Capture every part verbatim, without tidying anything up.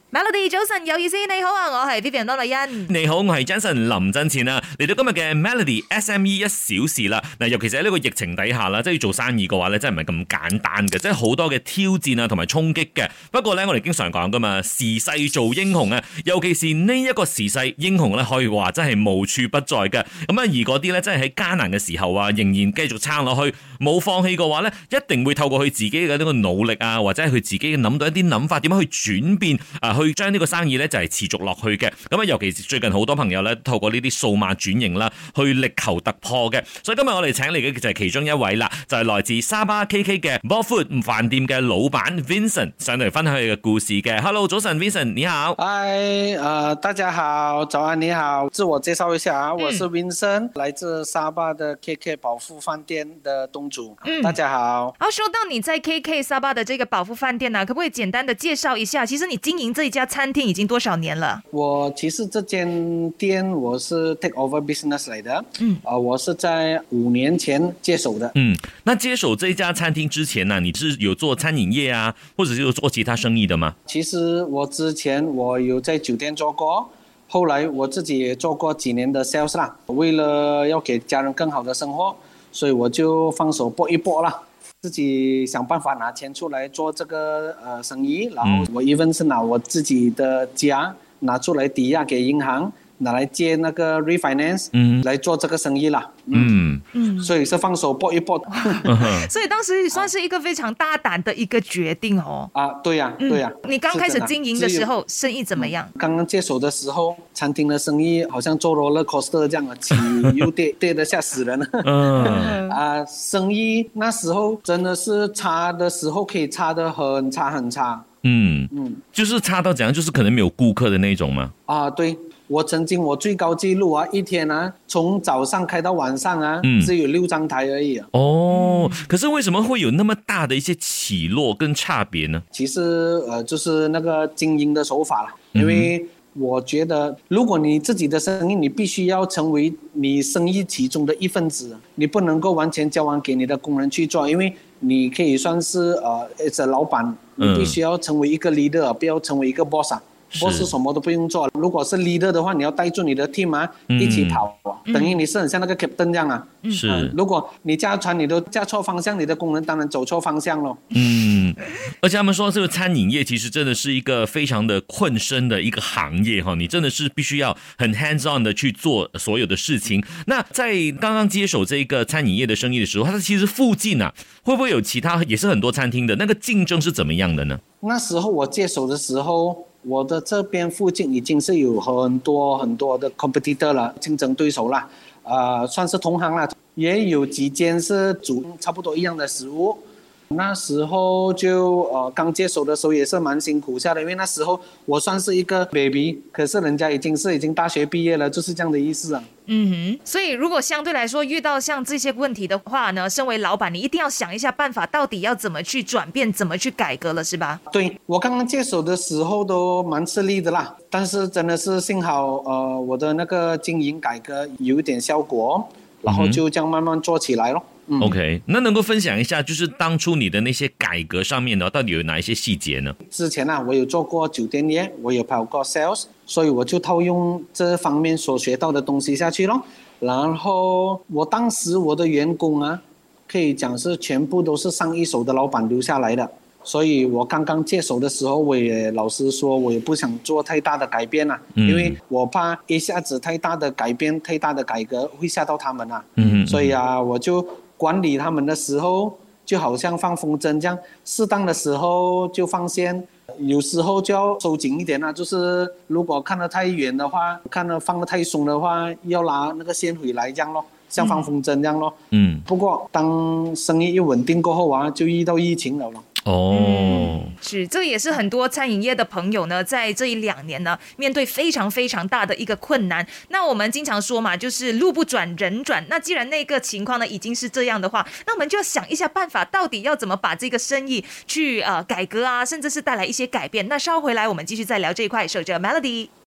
Melody 早晨有意思，你好啊，我係 Vivian 多麗欣。 你好，我係 Jason 林真前啊，嚟到今日嘅 Melody S M E 一小時啦。嗱，尤其是喺呢個疫情底下啦，即係要做生意嘅話咧，真係唔係咁簡單嘅，即係好多嘅挑戰啊，同埋衝擊嘅。不過咧，我哋經常講噶嘛，時勢做英雄啊，尤其是呢一個時勢，英雄咧可以話真係無處不在嘅。咁啊，而嗰啲咧，真係喺艱難嘅時候啊，仍然繼續撐落去，冇放棄嘅話咧，一定會透過佢自己嘅呢個努力啊，或者係佢自己諗到一啲諗法，點樣去轉變啊，去將呢個生意咧就係持續落去嘅。咁啊，尤其是最近好多朋友咧透過呢啲數碼轉型啦，去力求突破嘅。所以今日我哋請嚟嘅就係其中一位啦，就係、是、來自沙巴 K K 嘅 Ballfood 飯店嘅老闆 Vincent 上嚟分享佢嘅故事嘅。Hello， 早晨 Vincent， 你好。 嗨，呃，大家好，早安，你好，自我介紹一下啊，我是 Vincent，、嗯、來自沙巴的 K K 寶富飯店的東主。嗯，大家好。 好，說到你在 K K 沙巴的這個寶富飯店呢、啊，可不可以簡單的介紹一下？其實你經營這一家餐廳已經多少年了？ 我其實這間店我是 take over business 嚟的，嗯，啊、呃，我是在五年前接手的。 嗯，那接手這一家餐廳之前呢、啊，你是有做餐飲業啊，或者是有做其他生意的嗎？ 其實我之前我有在酒店做過，後來我自己也做過幾年的 sales 啦。為了要給家人更好的生活，所以我就放手搏一搏啦，自己想辦法拿錢出來做這個呃生意。然後我 even 是拿我自己的家拿出來抵押給銀行，拿來借那個 refinance，嗯，來做這個生意啦。嗯嗯，所以是放手搏一搏。 所以當時算是一個非常大膽的一個決定哦。 啊，對呀、啊，對呀、啊嗯。你剛開始經營的時候，生意怎麼樣？ 剛剛接手的時候，餐廳的生意好像做 roller coaster 這樣啊，起又跌，跌得嚇死人了。嗯。啊，生意那時候真的是差的時候，可以差得很差很差。 嗯嗯，就是差到怎樣，就是可能沒有顧客的那種嗎？ 啊，對，我曾經我最高紀錄啊，一天啊，從早上開到晚上啊，嗯、只有六張台而已啊。 哦，可是為什麼會有那麼大的一些起落跟差別呢？ 其實，呃，就是那個經營的手法啦，因為我覺得，如果你自己的生意，你必須要成為你生意其中的一份子，你不能夠完全交還給你的工人去做，因為你可以算是呃，是老闆，你必須要成為一個 leader，、嗯、不要成為一個 boss 啊。boss 什麼都不用做，如果是 leader 的話，你要帶住你的 team 啊，嗯、一起跑啊，等於你是很像那個 captain 這樣啊。是、嗯，如果你駕船你都駕錯方向，你的工人當然走錯方向咯。 嗯，而且他們說，這個餐飲業其實真的是一個非常的困身的一個行業哈，你真的是必須要很 hands on 的去做所有的事情。那在剛剛接手這個餐飲業的生意的時候，它其實附近啊，會不會有其他也是很多餐廳的那個競爭是怎麼樣的呢？ 那時候我接手的時候，我的這邊附近已經是有很多很多的 competitor 了，競爭對手啦，呃，算是同行啦，也有幾間是煮差不多一樣的食物。那時候就呃剛接手的時候也是蠻辛苦下的，因為那時候我算是一個 baby， 可是人家已經是已經大學畢業了，就是這樣的意思啊。 嗯哼，所以如果相對來說遇到像這些問題的話呢，身為老闆你一定要想一下辦法，到底要怎麼去轉變，怎麼去改革了，是吧？ 對，我剛剛接手的時候都蠻吃力的啦，但是真的是幸好呃我的那個經營改革有一點效果，然後就這樣慢慢做起來咯。嗯、 OK， 那能夠分享一下，就是當初你的那些改革上面呢，到底有哪一些細節呢？ 之前啊，我有做過酒店業，我有跑過 sales， 所以我就套用這方面所學到的東西下去咯。然後我當時我的員工啊，可以講是全部都是上一手的老闆留下來的，所以我剛剛接手的時候，我也老實說，我也不想做太大的改變啊，嗯、因為我怕一下子太大的改變、太大的改革會嚇到他們啊。嗯，所以啊，我就管理他們的時候，就好像放風箏這樣，適當的時候就放線，有時候就要收緊一點啦。就是如果看得太遠的話，看得放得太鬆的話，要拿那個線回來這樣咯，像放風箏這樣咯。嗯。不過當生意一穩定過後啊，就遇到疫情了咯。 哦、 嗯，是，這也是很多餐飲業的朋友呢，在這一兩年呢，面對非常非常大的一個困難。那我們經常說嘛，就是路不轉人轉。那既然那個情況呢已經是這樣的話，那我們就要想一下辦法，到底要怎麼把這個生意去呃改革啊，甚至是帶來一些改變。那稍回來，我們繼續再聊這一塊。守着 Melody。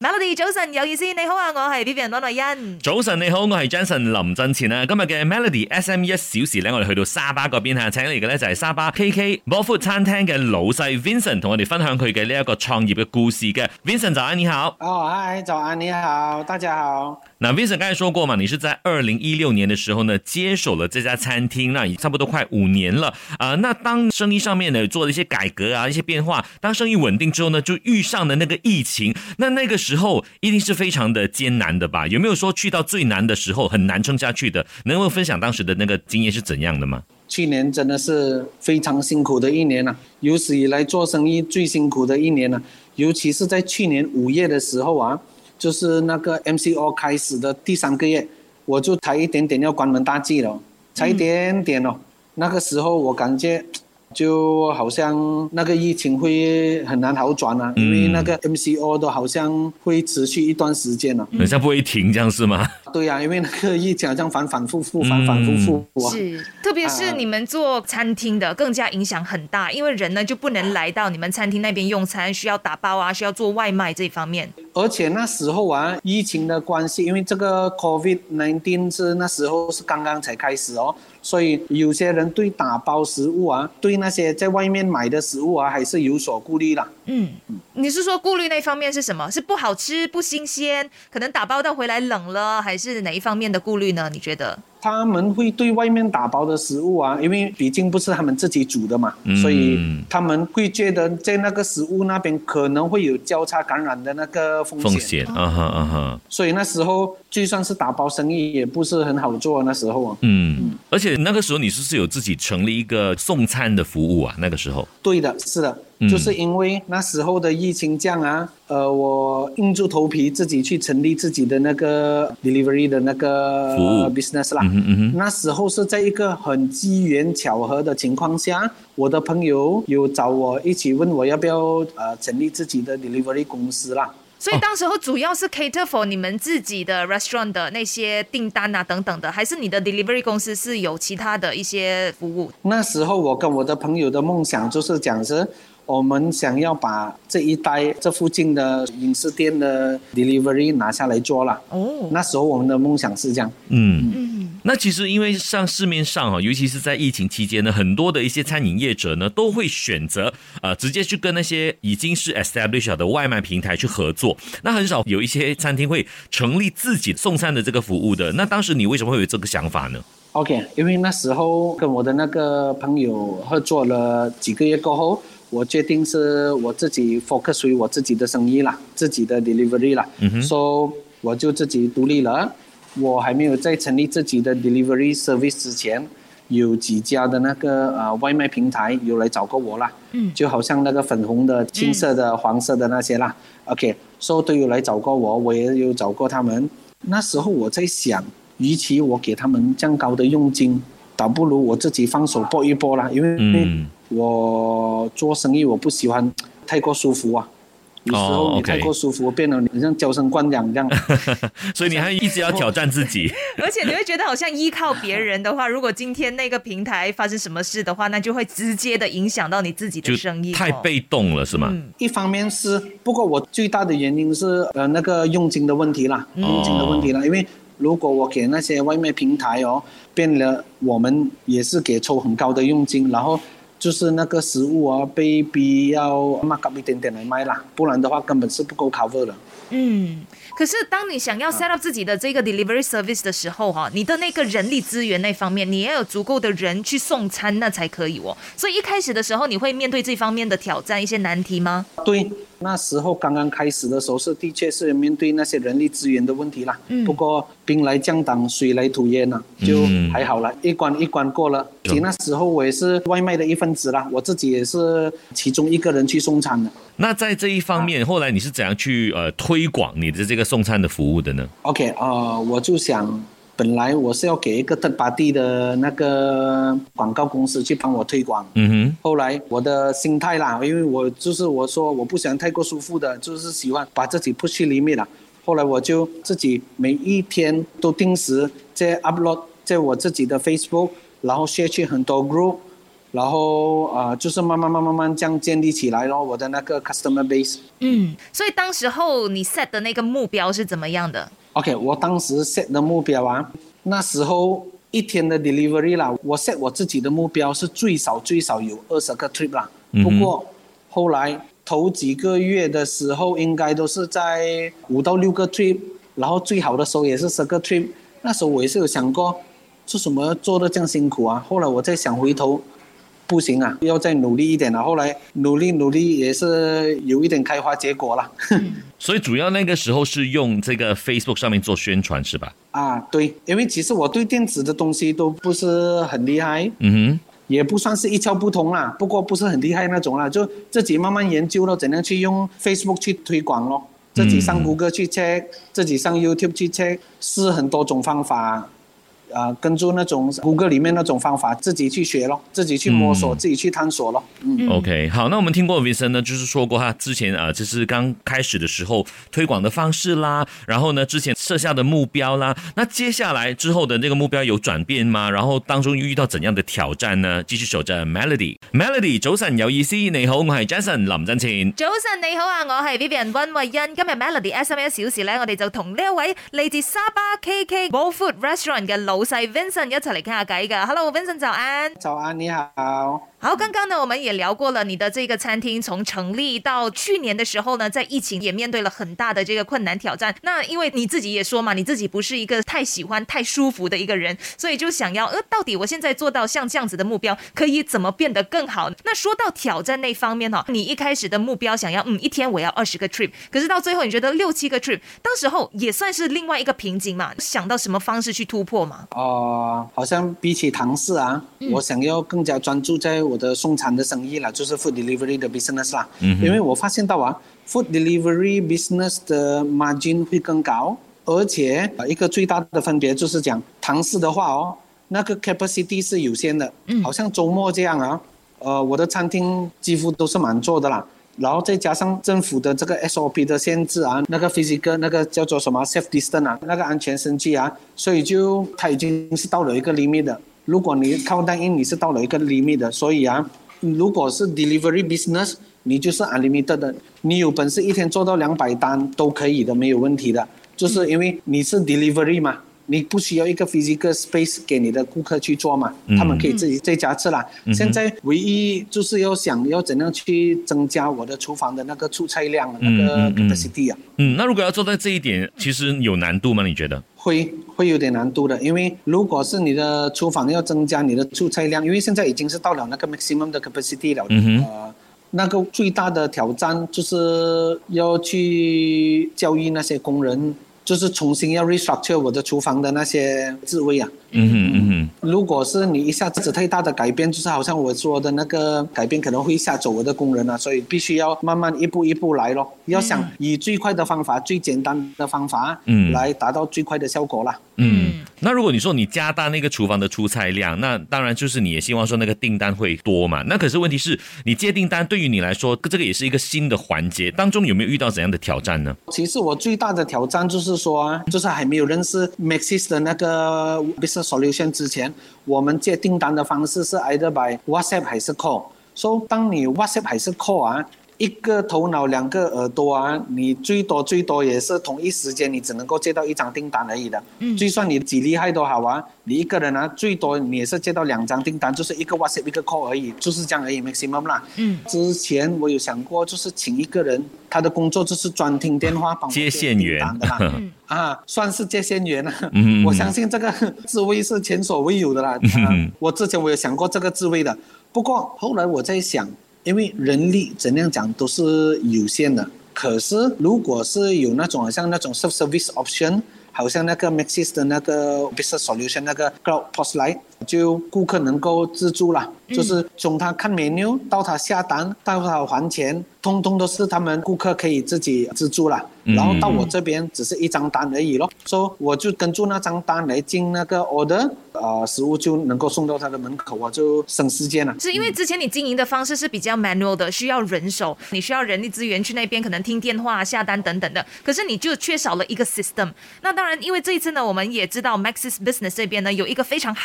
Melody 早晨有意思，你好啊，我係 Vivian 安麗欣。 早晨你好，我係 Jason 林振前啊。今日嘅 Melody S M E 一小時咧，我哋去到沙巴嗰邊吓，請嚟嘅咧就係沙巴 K K Ballfood 餐廳嘅老細 Vincent， 同我哋分享佢嘅呢一個創業嘅故事嘅。Vincent 早安，你好。 哦，嗨，早安，你好，大家好。 那 Vincent 剛才說過嘛，你是在二零一六年的時候呢，接手了這家餐廳，那已差不多快五年了啊、呃。那當生意上面呢做了一些改革啊，一些變化，當生意穩定之後呢，就遇上了那個疫情。那那個時候一定是非常的艱難的吧？有沒有說去到最難的時候，很難撐下去的？能夠分享當時的那個經驗是怎樣的嗎？ 去年真的是非常辛苦的一年啊，有史以來做生意最辛苦的一年啊，尤其是在去年五月的時候啊。就是那個 M C O 開始的第三個月，我就差一點點要關門大吉了，差一點點哦。那個時候我感覺就好像那個疫情會很難好轉啊，因為那個 M C O 都好像會持續一段時間了， 好像不會停，這樣是嗎？ 對啊，因為那個疫情好像反反复复，反反复复。 是，特別是你們做餐廳的，更加影響很大，因為人呢就不能來到你們餐廳那邊用餐，需要打包啊，需要做外賣這一方面。 而且那時候啊，疫情的關係，因為這個 COVID 十九 是那時候是剛剛才開始哦，所以有些人對打包食物啊，對那些在外面買的食物啊，還是有所顧慮啦。 嗯，你是說顧慮那方面是什麼？是不好吃、不新鮮，可能打包到回來冷了，還是哪一方面的顧慮呢？你覺得？ 他們會對外面打包的食物啊，因為畢竟不是他們自己煮的嘛，嗯、所以他們會覺得在那個食物那邊可能會有交叉感染的那個風險。 風險，啊哈啊哈。 所以那時候就算是打包生意也不是很好做，那時候啊。 嗯，嗯而且那個時候你是不是有自己成立一個送餐的服務啊？那個時候。 對的，是的。就是因為那時候的疫情這樣啊，呃，我硬住頭皮自己去成立自己的那個 delivery 的那個 business 啦。嗯嗯那時候是在一個很機緣巧合的情況下，我的朋友有找我一起問我要不要呃成立自己的 delivery 公司啦。 所以當時候主要是 cater for 你們自己的 restaurant 的那些訂單啊等等的，還是你的 delivery 公司是有其他的一些服務？那時候我跟我的朋友的夢想就是講是我們想要把這一帶這附近的飲食店的 delivery 拿下來做了。哦，那時候我們的夢想是這樣。 嗯嗯，那其實因為像市面上尤其是在疫情期間呢，很多的一些餐飲業者呢都會選擇呃直接去跟那些已經是 established 的外賣平台去合作。那很少有一些餐廳會成立自己送餐的這個服務的。那當時你為什麼會有這個想法呢 ？OK， 因為那時候跟我的那個朋友合作了幾個月過後，我決定是我自己 focus 於我自己的生意啦，自己的 delivery 啦，嗯哼，所以我就自己獨立了。我還沒有在成立自己的 delivery service 之前，有幾家的那個呃外賣平台有來找過我啦，嗯，就好像那個粉紅的、青色的、黃色的那些啦。OK， 所以都有來找過我，我也有找過他們。那時候我在想，與其我給他們這樣高的佣金，倒不如我自己放手搏一搏啦，因為、嗯、我做生意我不喜歡太過舒服啊，有時候你太過舒服，我變得很像嬌生慣養這樣。 所以你還一直要挑戰自己。 而且你會覺得好像依靠別人的話，如果今天那個平台發生什麼事的話，那就會直接的影響到你自己的生意。 太被動了，是嗎？ 嗯、一方面是，不過我最大的原因是呃那個佣金的問題啦，佣金的問題啦，因為如果我給那些外賣平台哦，變了我們也是給抽很高的佣金，然後就是那個食物啊被逼要 mark up 一點點來賣啦，不然的話根本是不夠 cover 的。嗯， 可是當你想要 set up 自己的這個 delivery service 的時候哈，你的那個人力資源那方面，你也有足夠的人去送餐，那才可以哦。所以一開始的時候，你會面對這方面的挑戰，一些難題嗎？ 對，那時候剛剛開始的時候是的確是面對那些人力資源的問題啦。嗯。不過兵來將擋，水來土掩啦，就還好了，一關一關過了。其實那時候我也是外賣的一份子啦，我自己也是其中一個人去送餐的。 那在這一方面，啊、後來你是怎樣去呃推廣你的這個送餐的服務的呢 ？OK， 呃，我就想，本來我是要給一個third party的那個廣告公司去幫我推廣。嗯哼。後來我的心態啦，因為我就是我說我不喜歡太過舒服的，就是喜歡把自己 push 去裡面啦。後來我就自己每一天都定時在 upload 在我自己的 Facebook，然後 share 去很多 group。 然后呃，就是慢慢慢慢慢这样建立起来咯，我的那个 customer base。 嗯，所以当时候你 set 的那个目标是怎么样的 ？OK， 我当时 set 的目标啊，那时候一天的 delivery 啦，我 set 我自己的目标是最少最少有二十个 trip 啦。 嗯、 不过后来头几个月的时候，应该都是在五到六个 trip， 然后最好的时候也是十个 trip。那时候我也是有想过，做什么做得这样辛苦啊？后来我再想回头。不行啊，要再努力一点了。后来努力努力也是有一点开花结果了。 所以主要那个时候是用这个 Facebook 上面做宣传是吧？ 啊，对，因为其实我对电子的东西都不是很厉害， 嗯哼， 也不算是一窍不通啦，不过不是很厉害那种啦，就自己慢慢研究了怎样去用 Facebook 去推广咯，自己上 Google 去 check，、嗯、自己上 YouTube 去 check， 试很多种方法。呃，跟住那种 Google 里面那种方法，自己去学咯，自己去摸索，嗯、自己去探索咯。嗯 ，OK， 好，那我们听过 Vincent 呢，就是说过他之前啊、呃，就是刚开始的时候推广的方式啦，然后呢，之前设下的目標啦，那接下來之後的那個目標有轉變嗎？然後當中遇到怎樣的挑戰呢？繼續守着 Melody，Melody 早晨有意思，你好，我係 Jason 林振前。 早晨你好啊，我係 Vivian 溫慧欣。今日 Melody S M E 一小時咧，我哋就同呢一位嚟自沙巴 K K Bowl Food Restaurant 嘅老細 Vincent 一齊嚟傾下偈噶。Hello Vincent， 早安。 早安，你好。 好，剛剛呢，我們也聊過了你的這個餐廳從成立到去年的時候呢，在疫情也面對了很大的這個困難挑戰。那因為你自己也說嘛，你自己不是一個太喜歡太舒服的一個人，所以就想要，呃，到底我現在做到像這樣子的目標，可以怎麼變得更好？那說到挑戰那方面哦，你一開始的目標想要，嗯，一天我要二十個 trip， 可是到最後你覺得六七個 trip， 當時候也算是另外一個瓶頸嘛？想到什麼方式去突破嗎？ 哦、呃，好像比起堂食啊、嗯，我想要更加專注在我的送餐的生意啦，就是 food delivery 的 business 啦。嗯，因為我發現到啊 ，food delivery business 的 margin 會更高，而且一個最大的分別就是講堂食的話哦，那個 capacity 是有限的，嗯，好像周末這樣啊，呃，我的餐廳幾乎都是滿座的啦。然後再加上政府的這個 S O P 的限制啊，那個 physical 那個叫做什麼 safe distance 啊，那個安全生計啊，所以就它已經是到了一個 limit 的。如果你靠單因，你是到了一個 limit 的，所以啊，如果是 delivery business， 你就是 unlimited 的，你有本事一天做到兩百單都可以的，沒有問題的，就是因為你是 delivery 嘛。你不需要一個 physical space 給你的顧客去做嘛，嗯、他們可以自己在家吃啦、嗯。現在唯一就是要想要怎樣去增加我的廚房的那個出菜量，嗯、那個 capacity 啊。 嗯，那如果要做到這一點，其實有難度嗎？你覺得？ 會會有點難度的，因為如果是你的廚房要增加你的出菜量，因為現在已經是到了那個 maximum 的 capacity 了。嗯呃，那個最大的挑戰就是要去教育那些工人。就是重新要 restructure 我的廚房的那些職位啊。嗯哼嗯哼。如果是你一下子太大的改變，就是好像我說的那個改變可能會嚇走我的工人啊，所以必須要慢慢一步一步來咯。要想以最快的方法、最簡單的方法，嗯，來達到最快的效果啦。 嗯，那如果你說你加大那個廚房的出菜量，那當然就是你也希望說那個訂單會多嘛。那可是問題是你接訂單對於你來說，這個也是一個新的環節，當中有沒有遇到怎樣的挑戰呢？ 其實我最大的挑戰就是說，就是還沒有認識 Maxis 的那個 business solution 之前，我們接訂單的方式是 either by WhatsApp 還是 call。所以當你 WhatsApp 還是 call 啊，一個頭腦兩個耳朵啊，你最多最多也是同一時間你只能夠接到一張訂單而已的。嗯，就算你幾厲害都好啊，你一個人啊，最多你也是接到兩張訂單，就是一個 WhatsApp 一個 call 而已，就是這樣而已 maximum 啦。嗯，之前我有想過，就是請一個人，他的工作就是專聽電話幫我接訂單的啦。嗯，啊，算是接線員啦。嗯，我相信這個職位是前所未有的啦。嗯，啊，我之前我有想過這個職位的，不過後來我在想，因為人力怎樣講都是有限的，可是如果是有那種好像那種 self-service option， 好像那個 Maxis 的那個 business solution 那個 cloud P O S 來，就顧客能夠自助啦，嗯，就是從他看 menu 到他下單到他還錢，通通都是他們顧客可以自己自助啦。然後到我這邊只是一張單而已咯，所以我就跟住那張單來進那個 order，呃，食物就能夠送到他的門口，我就省時間了。 是因為之前你經營的方式是比較 manual 的，需要人手，你需要人力資源去那邊可能聽電話、下單等等的，可是你就缺少了一個 system。那當然，因為這一次呢，我們也知道 Maxis Business 這邊呢有一個非常好的一個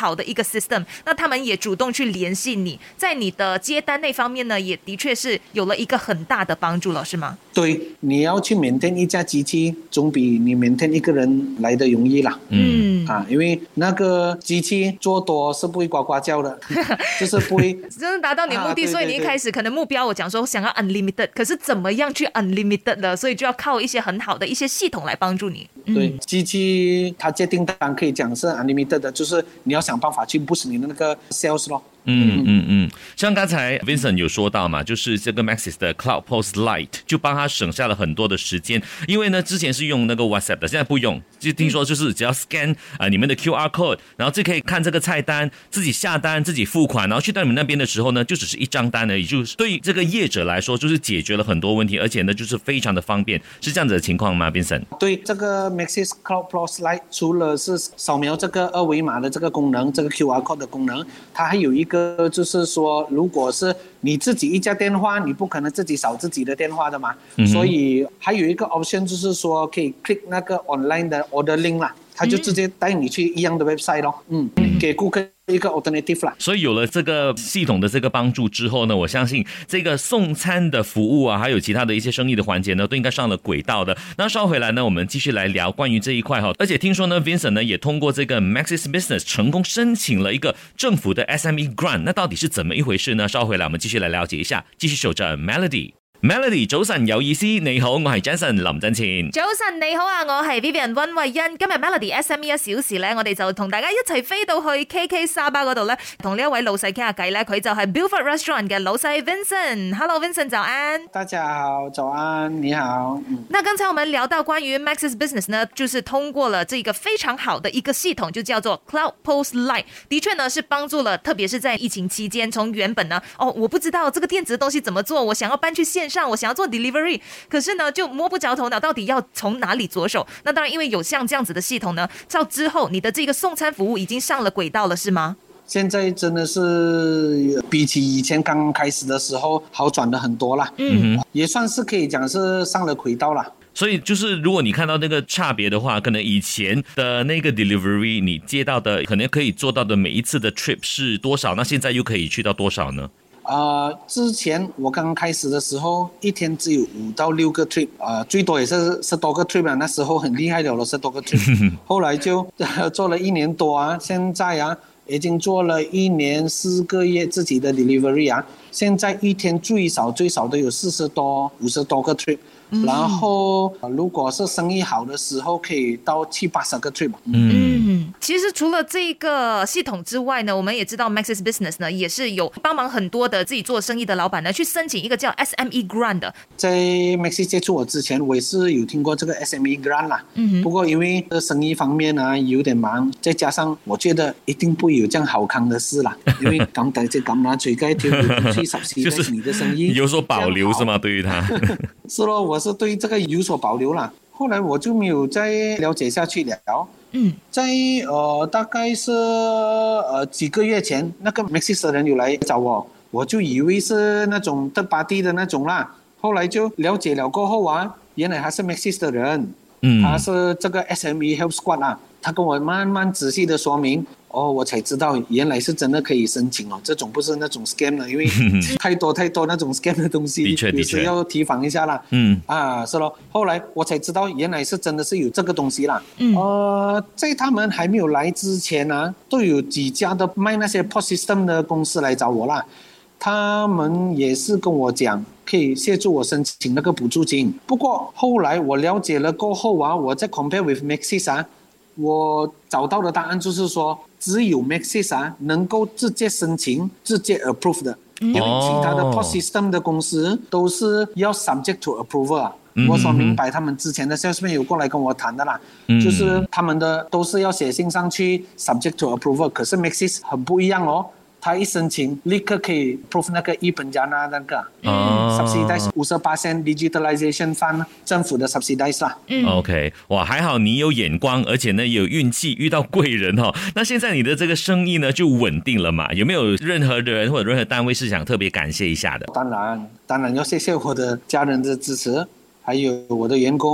system， 那他们也主动去联系你，在你的接单那方面呢，也的确是有了一个很大的帮助了，是吗？ 对，你要去 maintain 一架机器，总比你 maintain 一个人来的容易啦。 嗯啊，因为那个机器做多是不会呱呱叫的，就是不会真的达到你的目的、啊、所以你一开始可能目标我讲说想要 unlimited， 可是怎么样去 unlimited 的，所以就要靠一些很好的一些系统来帮助你。 嗯、对，机器它接订单可以讲是 unlimited 的，就是你要想办法去 boost 你的那个 sales 咯。 嗯嗯嗯，像刚才 Vincent 有说到嘛，就是这个 Maxis 的 Cloud Post Lite 就帮他省下了很多的时间，因为呢之前是用那个 WhatsApp 的，现在不用，就听说就是只要 scan 啊、呃、你们的 Q R code， 然后就可以看这个菜单，自己下单，自己付款，然后去到你们那边的时候呢，就只是一张单而已，就是对这个业者来说就是解决了很多问题，而且呢就是非常的方便，是这样子的情况吗 Vincent？ 对，这个 Maxis Cloud Post Lite 除了是扫描这个二维码的这个功能，这个 Q R code 的功能，它还有一个就是说，如果是你自己一家电话，你不可能自己扫自己的电话的嘛，嗯、所以还有一个 option 就是说可以 click 那个 online 的 order link 啦，它就直接带你去一样的 website 咯，嗯，嗯给顾客一个 alternative 啦。 所以有了这个系统的这个帮助之后呢，我相信这个送餐的服务啊，还有其他的一些生意的环节呢，都应该上了轨道的。那稍回来呢，我们继续来聊关于这一块哈。而且听说呢 ，Vincent 呢也通过这个 Maxis Business 成功申請了一個政府的 S M E Grant， 那到底是怎麼一回事呢？稍回來我們繼續來了解一下，繼續守着 Melody。Melody 早晨有意思，你好，我係 Jason 林振前。 早晨你好啊，我係 Vivian 溫慧欣。今日 Melody S M E 一小時咧，我哋就同大家一齊飛到去 K K 沙巴嗰度咧，同呢一位老細傾下偈咧。佢就係 Buford Restaurant 嘅老細 Vincent。Hello Vincent， 早安。 大家好，早安，你好。 嗯、那剛才我們聊到關於 Maxis Business 呢，就是通過了這個非常好的一個系統，就叫做 Cloud Post Lite。的確呢，是幫助了，特別是在疫情期間，從原本呢，哦，我不知道這個電子的東西怎麼做，我想要搬去線上，我想要做 delivery， 可是呢就摸不着頭腦，到底要從哪裡着手？那當然，因為有像這樣子的系統呢，到之後你的這個送餐服務已經上了軌道了，是嗎？ 現在真的是比起以前剛開始的時候好轉得很多啦，嗯，也算是可以講是上了軌道啦。 所以就是如果你看到那個差別的話，可能以前的那個 delivery 你接到的可能可以做到的每一次的 trip 是多少，那現在又可以去到多少呢？ 呃，之前我剛開始的時候，一天只有五到六個 trip， 呃，最多也是十多個 trip 啊，那時候很厲害的了，十多個 trip。後來就、呃、做了一年多啊，現在啊，已經做了一年四個月自己的 delivery 啊，現在一天最少最少都有四十多、五十多個 trip。然後如果是生意好的時候可以到七八十個 trip。 嗯，其實除了這個系統之外呢，我們也知道 Maxis Business 呢也是有幫忙很多的自己做生意的老闆呢去申請一個叫 S M E Grant 的。 在 Maxis 接觸我之前，我也是有聽過這個 S M E Grant 啦。嗯，不過因為生意方面啊有點忙，再加上我覺得一定不會有這樣好康的事啦。因為咁大隻咁拿水蓋條去十四代你的生意有所保留是嗎？對於他是咯，我是對這個有所保留啦。後來我就沒有再了解下去了。嗯，在呃大概是呃幾個月前，那個 Maxis 的人有來找我，我就以為是那種third party的那種啦。後來就了解了過後啊，原來他是 Maxis 的人，嗯，他是這個 S M E Help Squad 啊，他跟我慢慢仔細的說明。哦，我才知道原來是真的可以申請哦，這種不是那種 scam 了，因為太多太多那種 scam 的東西， 的確的確，有時要提防一下啦。嗯，啊，是咯。後來我才知道原來是真的是有這個東西啦。嗯，呃，在他們還沒有來之前啊，都有幾家的賣那些 P O S system 的公司來找我啦，他們也是跟我講可以協助我申請那個補助金。不過後來我了解了過後啊，我在 compare with Maxis 啊，我找到的答案就是說，只有 Maxis 啊能夠直接申請、直接 approve 的，因為其他的 P O S system 的公司都是要 subject to approval 啊。我所明白，他們之前的 salesman 有過來跟我談的啦，就是他們的都是要寫信上去 subject to approval， 可是 Maxis 很不一樣哦。他一申請立刻可以 prove 那個一本家那那個、嗯、subsidize 五十八%， digitalization fund 政府的 subsidize 啦。 嗯 OK， 哇，還好你有眼光，而且呢有運氣遇到貴人哦。那現在你的這個生意呢就穩定了嘛？有沒有任何人或者任何單位是想特別感謝一下的？ 當然，當然要謝謝我的家人的支持，還有我的員工。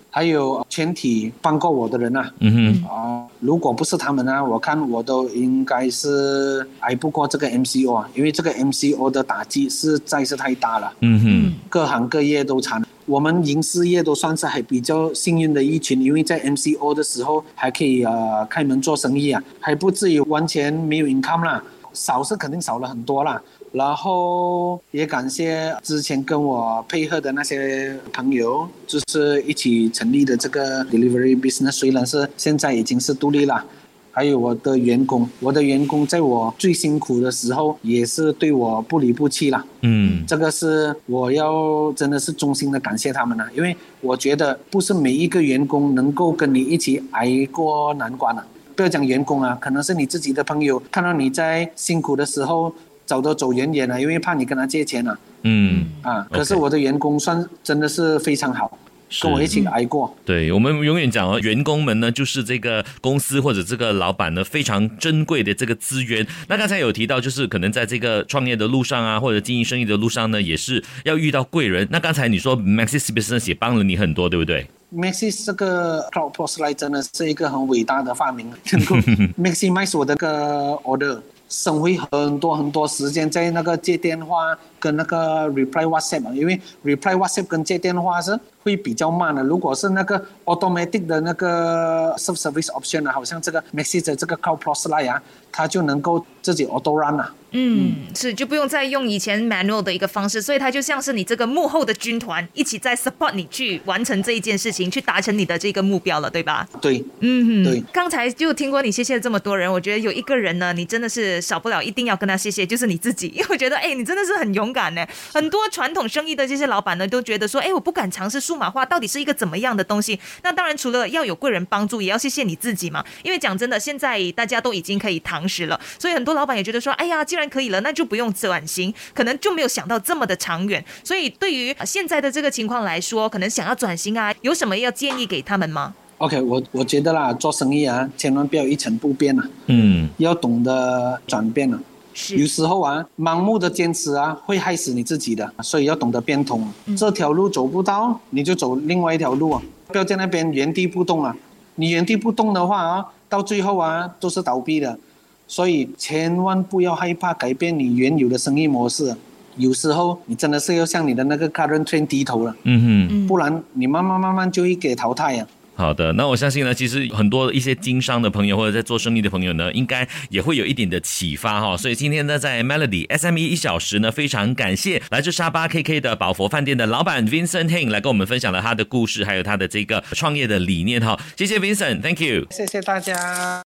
还有全体帮过我的人啊， 嗯哼， 啊、呃，如果不是他们啊，我看我都应该是挨不过这个 M C O 啊，因为这个 M C O 的打击实在是太大了， 嗯哼， 各行各业都惨。我们银饰业都算是还比较幸运的一群，因为在 M C O 的时候还可以呃开门做生意啊，还不至于完全没有 income 啦，少是肯定少了很多啦。然后也感谢之前跟我配合的那些朋友，就是一起成立的这个 delivery business， 虽然是现在已经是独立了。还有我的员工，我的员工在我最辛苦的时候也是对我不离不弃啦。 嗯， 这个是我要真的是衷心的感谢他们了，因为我觉得不是每一个员工能够跟你一起挨过难关啊。不要讲员工啊，可能是你自己的朋友看到你在辛苦的时候走都走远远了，因为怕你跟他借钱啊。 嗯啊，可是我的员工算真的是非常好。跟我一起挨过。 对，我们永远讲哦，员工们呢就是这个公司或者这个老板呢非常珍贵的这个资源。那刚才有提到，就是可能在这个创业的路上啊，或者经营生意的路上呢，也是要遇到贵人。那刚才你说 Maxis Business 也帮了你很多，对不对 ？Maxis 这个 Cloud Post Line 真的是一个很伟大的发明，能够 maximize 我的个 order。省回很多很多时间在那个接电话跟那个 reply WhatsApp， 因为 reply WhatsApp 跟接电话是会比较慢的。如果是那个 automatic 的那个 self service option 啊，好像这个 Maxis 的这个 Cloud Post Line 啊，它就能够自己 auto run 啊。 嗯，是就不用再用以前 manual 的一个方式，所以它就像是你这个幕后的军团一起在 support 你去完成这一件事情，去达成你的这个目标了，对吧？ 对， 嗯， 对。 刚才就听过你谢谢了这么多人，我觉得有一个人呢，你真的是少不了一定要跟他谢谢，就是你自己，因为我觉得哎，你真的是很勇敢呢。很多传统生意的这些老板呢，都觉得说，哎，我不敢尝试数码化，到底是一个怎么样的东西？那当然除了要有贵人帮助，也要谢谢你自己嘛。因为讲真的，现在大家都已经可以堂食了，所以很多老板也觉得说，哎呀，既然可以了，那就不用转型，可能就没有想到这么的长远。所以对于现在的这个情况来说，可能想要转型啊，有什么要建议给他们吗？ OK， 我我觉得啦，做生意啊，千万不要一成不变啊， 嗯， 要懂得转变啊。 是， 有时候啊，盲目的坚持啊，会害死你自己的，所以要懂得变通。嗯、这条路走不到，你就走另外一条路啊，不要在那边原地不动啊。你原地不动的话啊，到最后啊，都是倒闭的。所以千万不要害怕改变你原有的生意模式。有时候你真的是要向你的那个 current trend 低头了，嗯哼，不然你慢慢慢慢就会给淘汰啊。 好的，那我相信呢，其实很多一些经商的朋友或者在做生意的朋友呢，应该也会有一点的启发哈。所以今天呢，在 Melody S M E 一小时呢，非常感谢来自沙巴 K K 的宝佛饭店的老板 Vincent Heng 来跟我们分享了他的故事，还有他的这个创业的理念哈。谢谢 Vincent，Thank you， 谢谢大家。